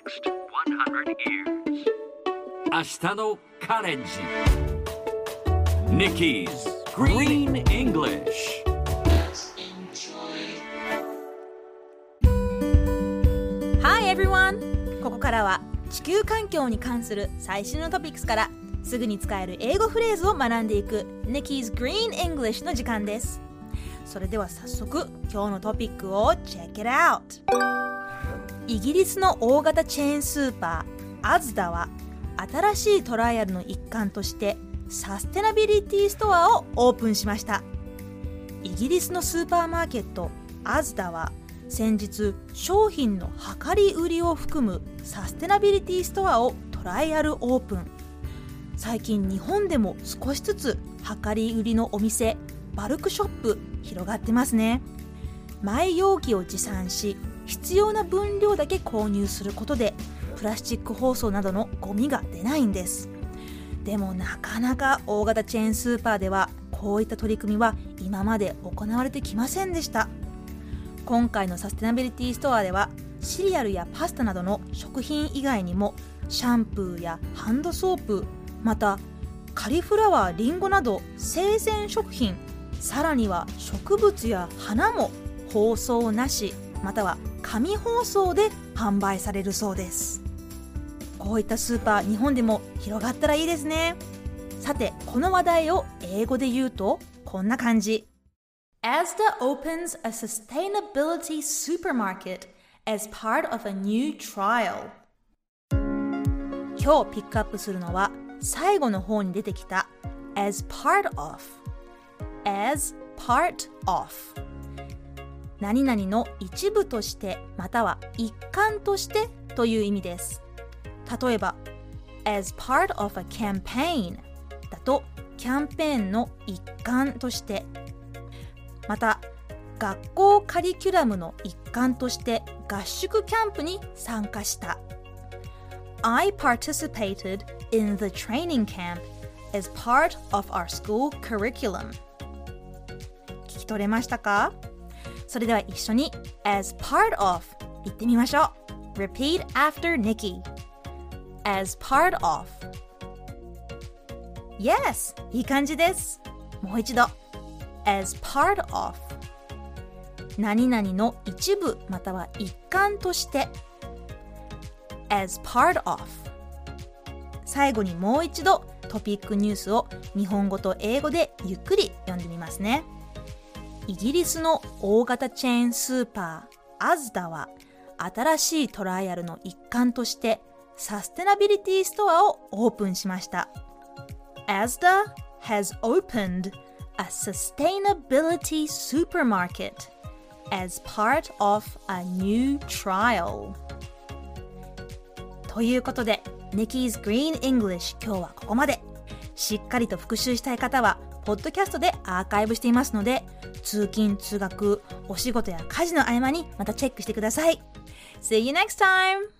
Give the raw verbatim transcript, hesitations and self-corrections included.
next one hundred years. 明日のカレンジ Nikki's Green English. Hi everyone! ここからは地球環境に関する最新のトピックスからすぐに使える英語フレーズを学んでいく Nikki's Green English の時間です。それでは早速今日のトピックを Check it out! イギリスの大型チェーンスーパー Asda は新しいトライアルの一環としてサステナビリティストアをオープンしました。イギリスのスーパーマーケット Asda は先日商品の量り売りを含むサステナビリティストアをトライアルオープン。最近日本でも少しずつ量り売りのお店バルクショップ広がってますね。マイ容器を持参し必要な分量だけ購入することでプラスチック包装などのゴミが出ないんです。でもなかなか大型チェーンスーパーではこういった取り組みは今まで行われてきませんでした。今回のサステナビリティストアではシリアルやパスタなどの食品以外にもシャンプーやハンドソープ、またカリフラワー、リンゴなど生鮮食品、さらには植物や花も包装なしまたは紙包装で販売されるそうです。こういったスーパー日本でも広がったらいいですね。さてこの話題を英語で言うとこんな感じ。 Asda opens a sustainability supermarket as part of a new trial。 今日ピックアップするのは最後の方に出てきた as part of as part of 何々の一部としてまたは一環としてという意味です。例えば as part of a campaign だとキャンペーンの一環として、また学校カリキュラムの一環として合宿キャンプに参加した。 I participated in the training camp as part of our school curriculum。 聞き取れましたか？それでは一緒に as part of 言ってみましょう。 Repeat after Nikki。 as part of。 Yes! いい感じです。もう一度 as part of 何々の一部または一環として as part of。 最後にもう一度トピックニュースを日本語と英語でゆっくり読んでみますね。イギリスの大型チェーンスーパー Asda は新しいトライアルの一環としてサステナビリティストアをオープンしました。 Asda has opened a sustainability supermarket as part of a new trial。 ということで Nikki's Green English 今日はここまで。しっかりと復習したい方はポッドキャストでアーカイブしていますので通勤通学お仕事や家事の合間にまたチェックしてください。 See you next time!